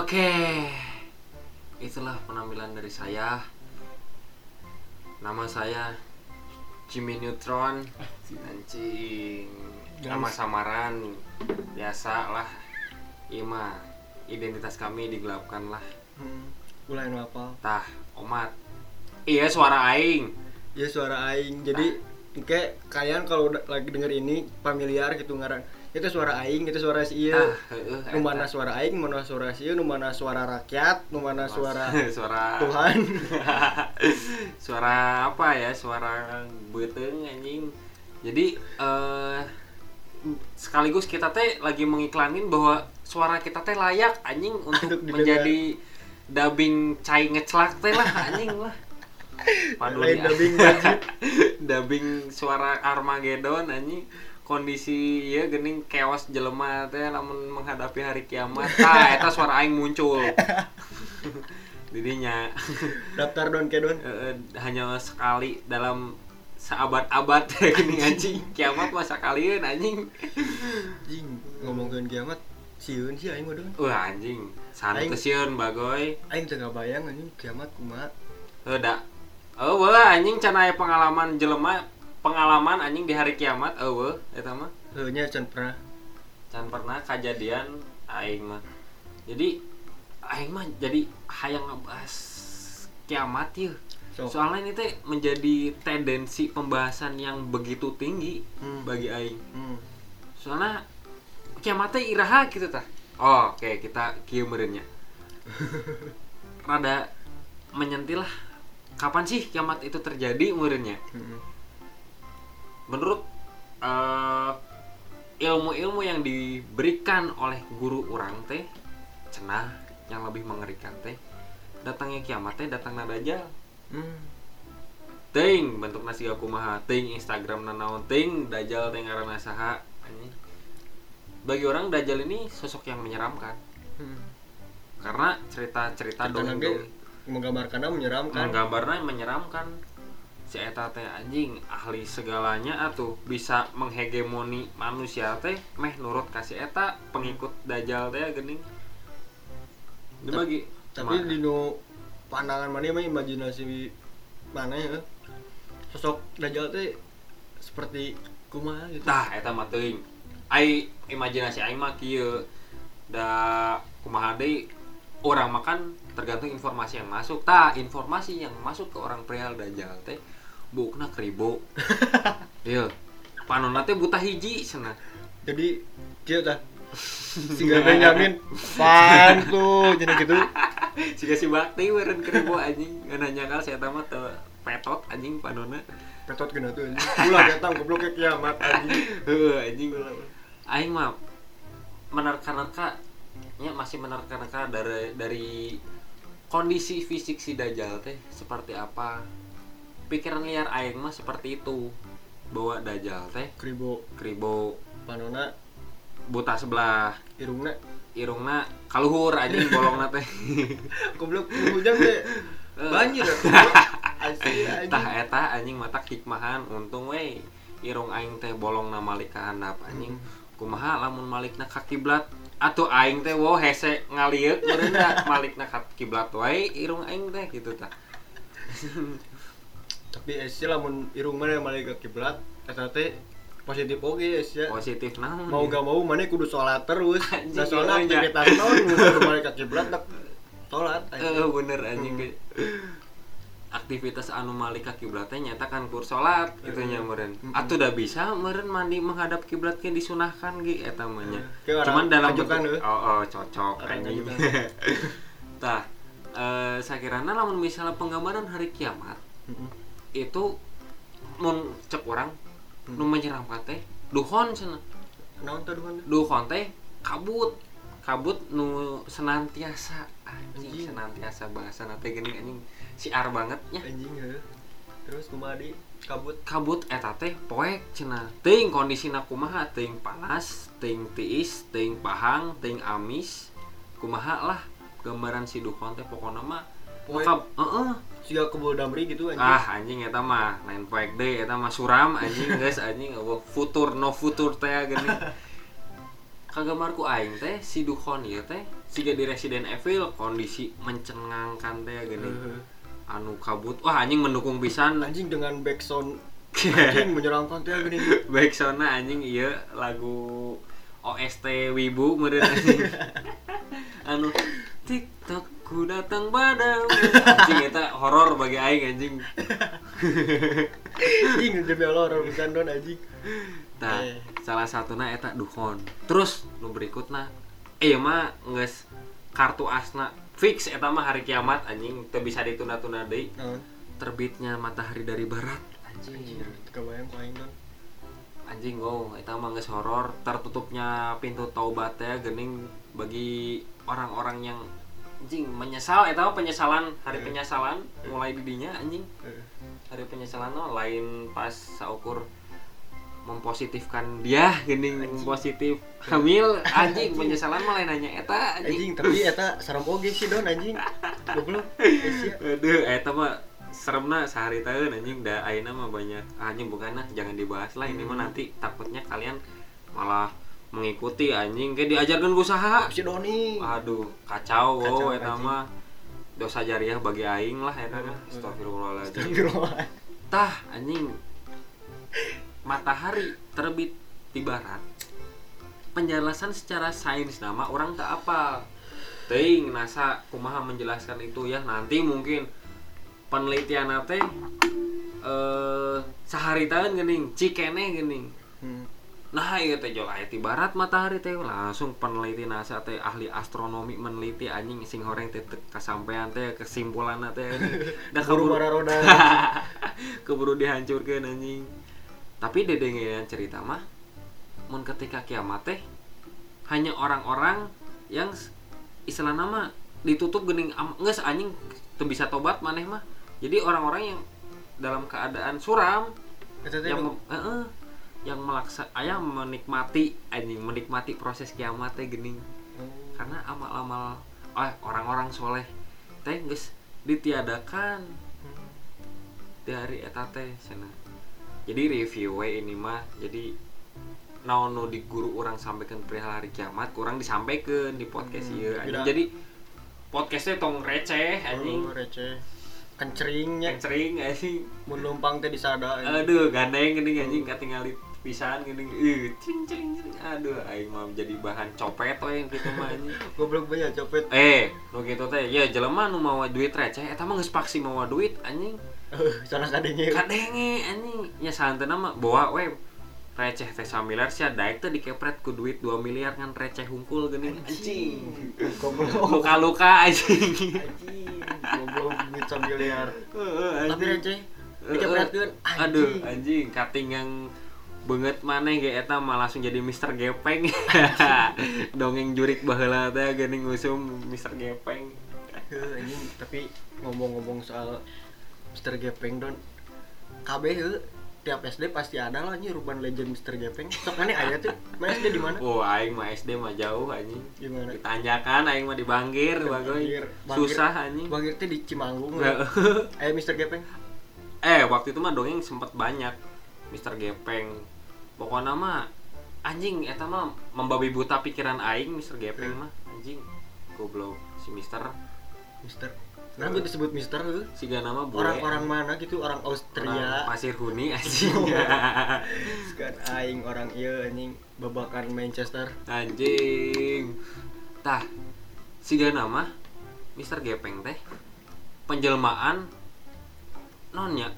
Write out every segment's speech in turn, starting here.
Oke, itulah penampilan dari saya. Nama saya Jimmy Neutron. Anjing. Nama samaran biasa lah. Ima identitas kami digelapkan lah. Mulai apa? Tah, omat. Iya suara aing. Ya suara aing. Jadi kayak kalian kalau lagi denger ini familiar gitu ngaran. Itu suara aing, itu suara si ieu. Nu mana suara aing, mana suara si ieu, nu mana suara rakyat, nu mana suara Tuhan. Suara apa ya? Suara beuteung anjing. Jadi sekaligus kita teh lagi mengiklanin bahwa suara kita teh layak anjing untuk menjadi dubbing cai ngeclak teh lah anjing lah. Lain dubbing wajib. Dubbing suara Armageddon anjing. Kondisi ya geuning chaos jelema teh lamun menghadapi hari kiamat. Eta suara aing muncul. Didinya. Daftar don ke don. Hanya sekali dalam seabad-abad gini anjing. Kiamat mah sakalieun anjing. Anjing, ngomongkeun kiamat sieun sih aing mah don. Wah anjing, santai sieun bagoy. Aing teu ngabayang anjing kiamat kumaha. Da. Wah anjing can aya pengalaman jelema pengalaman anjing di hari kiamat eta mah nya can pernah kejadian aing mah. Jadi aing mah jadi hayang ngebahas kiamat yeuh. Soalnya ini teh menjadi tendensi pembahasan yang begitu tinggi bagi aing. Soalnya kiamat teh iraha gitu tah. Oke, kita kieu meureun nya. Rada menyentil lah. Kapan sih kiamat itu terjadi meureun nya? Menurut ilmu-ilmu yang diberikan oleh guru orang teh cenah yang lebih mengerikan teh datangnya kiamat teh datangna dajjal. Ting bentukna siga kumaha, ting Instagram naon, ting dajjal teh ngaranna saha anjing. Bagi orang dajjal ini sosok yang menyeramkan. Karena cerita-cerita dongeng menggambarkannya menyeramkan. Menggambarnya menyeramkan. Si eta teh anjing ahli segalanya atuh bisa menghegemoni manusia teh meh nurut ka si eta pengikut dajjal teh geuning. Dibagi tapi di nu pandangan mana mah imajinasi mana ya sosok dajjal teh seperti kumaha gitu. Tah eta mah teuing. Ai imajinasi aing mah kieu da kumaha deui urang makan tergantung informasi yang masuk. Tah informasi yang masuk ke orang perihal dajjal teh bukna kribo. Ieu. Panonna teh buta hiji cenah. Jadi kieu tah. Siga Benjamin pan tuh jadi gitu. Siga si Bakti meureun kribo anjing. Ngan nyangkal si eta mah teu petot anjing panonna. Petot geuna tuh anjing. Ulah eta goblok ke kiamat anjing. Heuh anjing. Aing mah menerka-nerka nya masih menerka-nerka dari kondisi fisik si dajjal teh seperti apa. Pikiran liar aing mah seperti itu bahwa dajjal teh kribo panona buta sebelah irungna kaluhur anjing bolongna teh goblok hujan teh banjir atuh asli anjing tah eta anjing matak hikmahan untung we irung aing teh bolongna malik ka handap anjing kumaha lamun malikna ka kiblat atuh aing teh wo hese ngalieuk meureun da malikna ka kiblat wae irung aing teh gitu tah. Tapi esi lamun irung mana malik ke kiblat eta teh positif oge ya. Positif naon? Mau gak mau mana kudu sholat terus. Da sholat aktivitas naon kudu malik ke kiblat dak sholat. Bener anjing. Aktivitas anu malik ka kiblat teh nyata kan kur sholat kitu nya meureun. Atuh da bisa meureun mandi menghadap kiblat ge disunahkan ge eta mah nya. Cuman dalam cocok anjing. Tah sakirana lamun misalnya penggambaran hari kiamat itu mun cek orang nu menyeramkan teh duhon cenah. Naon teh duhon? Duhon teh kabut nu senantiasa anjing senantiasa bahasana teh geuning anjing siar banget nya anjing heuh. Terus kumaha di kabut eta teh poek cenah. Teuing kondisina kumaha teuing panas, teuing tiis, teuing pahang, teuing amis. Kumaha lah gambaran si duhon teh pokona mah poek. Siga kebul damri gitu anjing. Anjing eta mah lain poek deui eta mah suram anjing geus anjing futur no futur teh geuning. Kagamar ku aing teh si Dukhon ieu teh siga di Resident Evil kondisi mencengangkan teh gini. Anu kabut. Wah anjing mendukung pisan anjing dengan backsound anjing menyeramkan teh gini. Backsoundna anjing ieu lagu OST Wibu meureun anjing. Anu TikTok ku datang padamu. Anjing eta horor bagi aing anjing. Anjing jadi horor bukan don anjing. Tah, salah satuna eta Dukhon. Terus nu berikutna ieu mah geus kartu asna fix eta mah hari kiamat anjing teu bisa ditunda-tunda deui. Terbitnya matahari dari barat anjing. Kebayang ku aing don. Anjing eta mah geus horor, tertutupnya pintu taubat teh geuning bagi orang-orang yang anjing menyesal eta mah penyesalan hari penyesalan mulai di dinya anjing. Hari penyesalan lain pas saukur mempositifkan dia geuning positif hamil anjing penyesalan mah lain nanya eta anjing tapi eta sarem oge sih don anjing goblok aduh eta mah seremna sehari taeun anjing da ayeuna mah banyak anjing bukanna jangan dibahas lah ini mah nanti takutnya kalian malah mengikuti anjing kayak diajarkeun usaha si Doni aduh kacau eta mah dosa jariah bagi aing lah eta mah astagfirullahaladzim tah anjing matahari terbit di barat. Penjelasan secara sains nama orang tak apa. Teuing NASA kumaha menjelaskan itu ya nanti mungkin penelitian teh saharitaeun geuning cikene geuning. Nah ieu teh jol aya di barat matahari teh langsung peneliti NASA teh ahli astronomi meneliti anjing sing horeng teh kasampean teh kesimpulanna teh da keburu roda. Keburu dihancurkeun anjing. Tapi dedengean cerita mah mun ketika kiamat teh hanya orang-orang yang istilahna mah ditutup geuning geus anjing teu bisa tobat maneh mah. Jadi orang-orang yang dalam keadaan suram yang menikmati anjing menikmati proses kiamat teh geuning. Karena amal-amal orang-orang soleh teh geus ditiadakan di hari eta teh cenah. Jadi review ini mah jadi naon nu di guru urang sampaikan perihal hari kiamat kurang disampaikan di podcast ieu anjing. Jadi podcastnya tong receh anjing. Receh. Kencringnya. Kencring anjing. Mun numpang teh disada. Aduh gandeng geuning anjing katingali pisan geuning. Cing. Aduh aing mah jadi bahan copet we kitu mah anjing. Goblok banyak copet. Nu kitu teh ya jelema nu mawa duit receh eta mah geus paksi mawa duit anjing. Salah kadenge anjing nya santeuna mah bawa we receh teh 1 miliar sia daek teh dikepret ku duit 2 miliar kan receh hungkul geuning anjing goblok luka-luka anjing goblok duit 1 miliar tapi receh dikepretkeun aduh anjing katingang beungeut maneh ge eta mah langsung jadi Mister Gepeng dongeng jurik baheula teh geuning ngusum Mister Gepeng anjing tapi ngomong-ngomong soal Mister Gepeng don KB tiap SD pasti ada lah nih Urban Legend Mister Gepeng. Sok mana aya tuh? Mana SD di mana? Oh, aing mah SD mah jauh anjing. Gimana? Ditanyakan aing mah di Banggir, bagoy. Susah anjing. Banggir teh di Cimanggung. Aya Mister Gepeng. Waktu itu mah dongeng sempet banyak Mister Gepeng. Pokoknya mah anjing eta mah membabi buta pikiran aing Mister Gepeng mah anjing. Goblok si Mister. Kenapa disebut Mister tuh? Siga nama bule. Orang-orang mana gitu? Orang Austria. Orang Pasir Huni anjing. Sekarang aing orang ieu anjing babakan Manchester. Anjing. Tah. Siga nama Mister Gepeng teh penjelmaan nonnya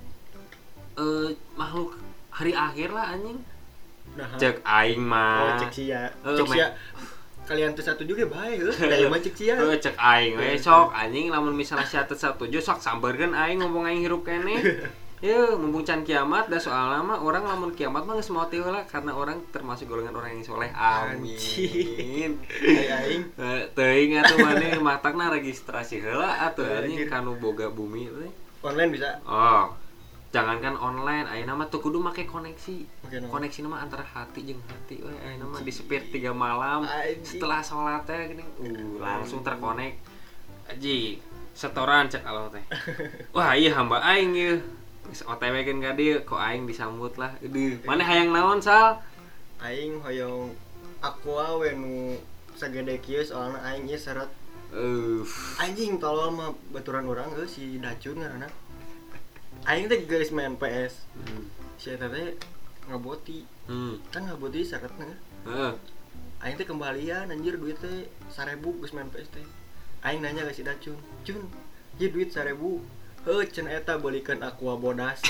makhluk hari akhir lah anjing. Nah, cek aing mah. Cek sia. Kalian teu satu juga bae heuh. Kayak mah cek sia. Cek aing we sok anjing lamun misalnya sia teu satuju sok sambeurkeun aing ngomong aing hirup keneh. Yeuh, mumpung can kiamat da soalna mah orang lamun kiamat mah geus mati heula karena orang termasuk golongan orang yang soleh. Amin. Aing. Teuing atuh maneh matangna registrasi heula atuh anjing kanu boga bumi teh. Online bisa? Oh. Jangankan online, ayeuna mah teu kudu make koneksi. Koneksi mah antara hati jeung hati we. Ayeuna mah di sepir 3 malam setelah salat teh geuning langsung terkonek. Aji, setoran cek Allah teh. Wah, ieu hamba aing ieu. Geus OTW keun ka dieu, kok aing disambut lah. Aduh, maneh hayang naon, Sal? Aing hoyong aqua we nu sagede kieu soalna aing ieu seret. Anjing tolol mah baturan urang si Dacun ngaranna. Aing teh geus main PS. Si eta teh ngaboti. Kan ngaboti syaratna. Aing teh kembalian anjir duit teh 1.000 geus main PS teh. Aing nanya ke si Dacun, "Cun, ieu duit 1.000." Heuh, cenah eta beulikeun aqua bodas.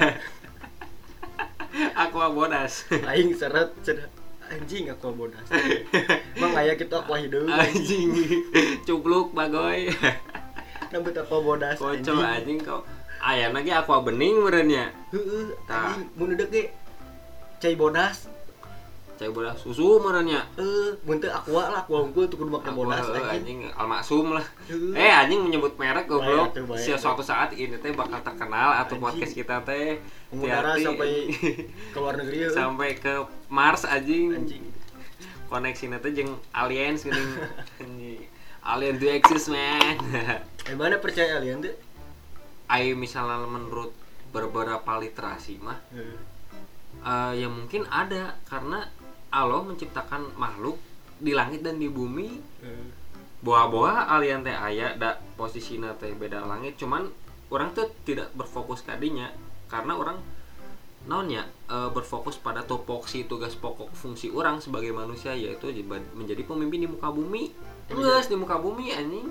Aqua bodas. Aing seret cenah anjing aqua bodas. Emang aya kitu aqua hideung. Anjing. Cubluk bagoy. Nambut aqua bodas. Kocok anjing kau. Ayana ge aqua bening meureun nya. Heeh, anjing mun deuk ge cai bodas. Cai bodas susu meureun nya. Mun teu aqua lah, aqua unggul tuh kudu make bodas anjing. Almaksum lah. Anjing menyebut merek goblok. Suatu saat ini teh bakal terkenal atau podcast kita teh mengudara sampai ke luar negeri sampai ke Mars anjing. Koneksina teh jeung aliens geuning. Anjing. Alien do exist man. Mana percaya alien teh? Ai misalnya menurut beberapa literasi mah ya mungkin ada karena Allah menciptakan makhluk di langit dan di bumi. Boa-boa alien teh aya da posisina teh beda langit, cuman orang tuh tidak berfokus kadinya karena orang naonnya berfokus pada topoksi tugas pokok fungsi orang sebagai manusia, yaitu menjadi pemimpin di muka bumi. Geus di muka bumi anjing.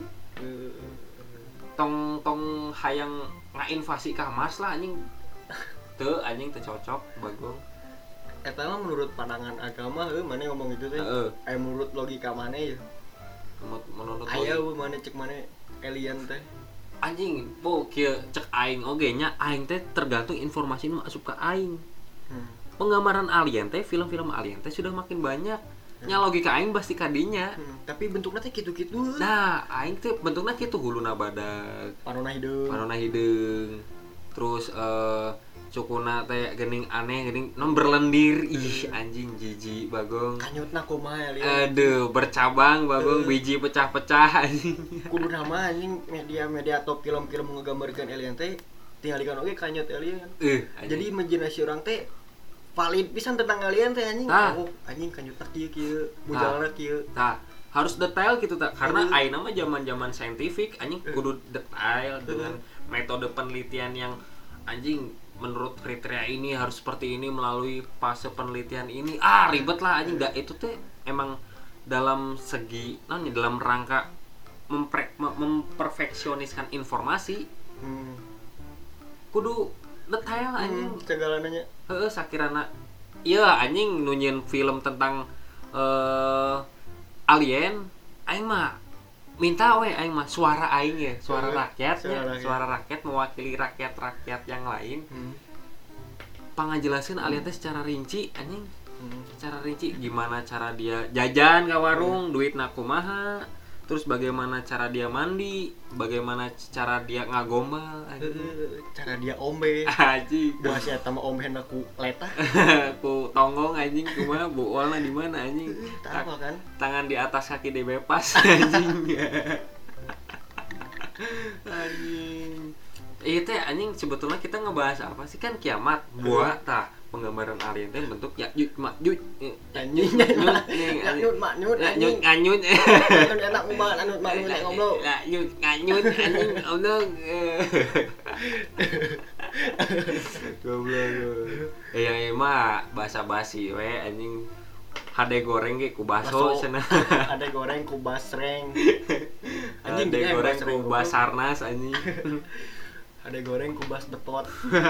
Tong hayang ngainvasi ka Mars lah anjing. Teu anjing teu cocok bagong. Eta mah menurut pandangan agama mana ngomong itu teh. Menurut logika mana ya? Menurut aya mana cek mana alien teh. Anjing, po kieu cek aing oge nya aing teh tergantung informasi nu masuk ke aing. Penggambaran alien teh, film-film alien teh sudah makin banyak. Nya logika aing pasti kadinya. Tapi bentukna teh kitu-kitu. Nah, aing teh bentukna kitu huluna badag, panonna hideung. Terus cukuna teh geuning aneh, geuning nom berlendir. Ih, anjing jijik bagong. Kanyutna kumaha alien. Aduh, bercabang bagong, biji pecah-pecah anjing. Kudu nama anjing media atau film-film nggambarkeun alien teh tingalikeun oge kanyut alien. Jadi imajinasi orang teh valid pisan tentang alien teh anjing. Oh, anjing kanyutna kieu, bujalna kieu. Tah, harus detail gitu tak karena ayeuna mah zaman-zaman saintifik anjing kudu detail dengan metode penelitian yang anjing menurut kriteria ini harus seperti ini melalui fase penelitian ini. Ribet lah anjing. Itu teh emang dalam segi dalam rangka memperfeksioniskan informasi. Kudu detail anjing segalananya. Sakirana iya anjing nunyin film tentang alien aing mah minta aing mah suara aing ya, suara rakyat mewakili rakyat yang lain. Pangajelasin alien teh secara rinci anjing. Secara rinci gimana cara dia jajan ke warung, duitna kumaha, terus bagaimana cara dia mandi, bagaimana cara dia ngagombal, cara dia ombe. Anjing. Buah sia eta mah omben aku letah. Ku tonggong anjing kumaha buolna di mana anjing. Tahu kan? Tangan di atas kaki dibepas anjing. Anjing. Itu anjing sebetulnya kita ngebahas apa sih kan kiamat. Buah tah penggambaran alien teh bentuk Ya'juj Ma'juj. Anjing. Ya'juj Ma'juj anjing. Anyut. Enak banget anut Ma'juj ngobrol. Ya'juj anyut anjing ngobrol. Goblok. Ya mah basa-basi we anjing. Hade goreng ge ku baso cenah. Hade goreng ku basreng. Anjing goreng ku basarnas anjing. Hade goreng ku bas depot.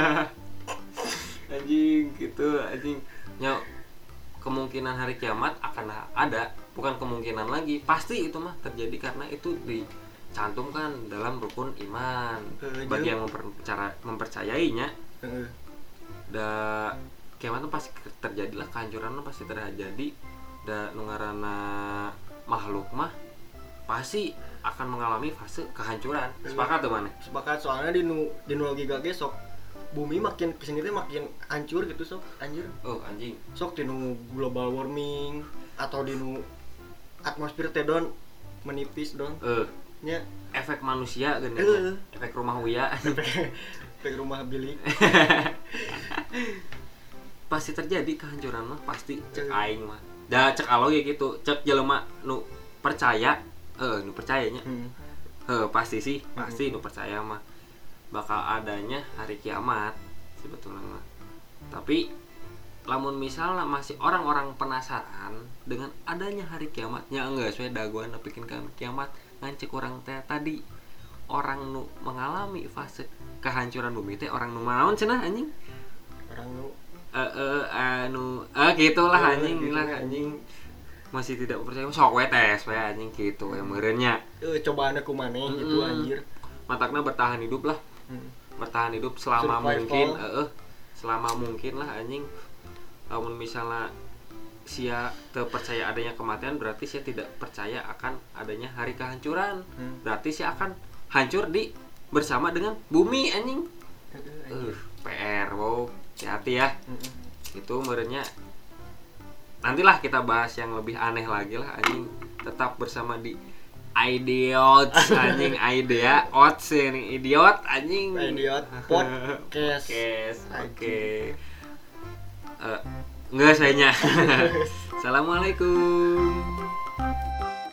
Anjing gitu anjing. Nya kemungkinan hari kiamat akan ada, bukan kemungkinan lagi, pasti itu mah terjadi karena itu dicantumkan dalam rukun iman bagi yang mempercayainya. Da kiamat itu pasti terjadilah, kehancuran itu pasti terjadi. Da nu ngaranna makhluk mah pasti akan mengalami fase kehancuran. Sepakat tuh mana? Sepakat, soalnya di logika ge sok bumi makin kesini teh makin hancur gitu sok anjir. Oh anjing. Sok dinu global warming atau dinu atmosfer teh don menipis don. Nya efek manusia geuning. Efek rumah Uya. Efek rumah bilik. Pasti terjadi kehancuran mah pasti cek aing mah. Da cek alo ya gitu, cek jelema nu percaya, nu percayanya. Pasti sih, pasti nu percaya mah bakal adanya hari kiamat sebetulnya mah. Tapi lamun misalnya masih orang-orang penasaran dengan adanya hari kiamatnya enggak sesuai daguan bikin kiamat ngancek orang teh tadi orang nu mengalami fase kehancuran bumi teh orang nu naon cenah anjing orang nu gitulah anjing lah anjing masih tidak percaya sok we tes we anjing gitu yang meureunya cobaan aku maneh gitu anjir matakna bertahan hidup lah bertahan hidup selama mungkin selama mungkin lah anjing. Namun misalnya sia terpercaya adanya kematian berarti sia tidak percaya akan adanya hari kehancuran. Berarti sia akan hancur bersama dengan bumi anjing. PR wow, hati-hati ya. Itu merenya nantilah kita bahas yang lebih aneh lagi lah anjing. Tetap bersama di Idiot anjing idea ots ini idiot anjing idiot podcast. Oke. Enggak sayanya. Assalamualaikum.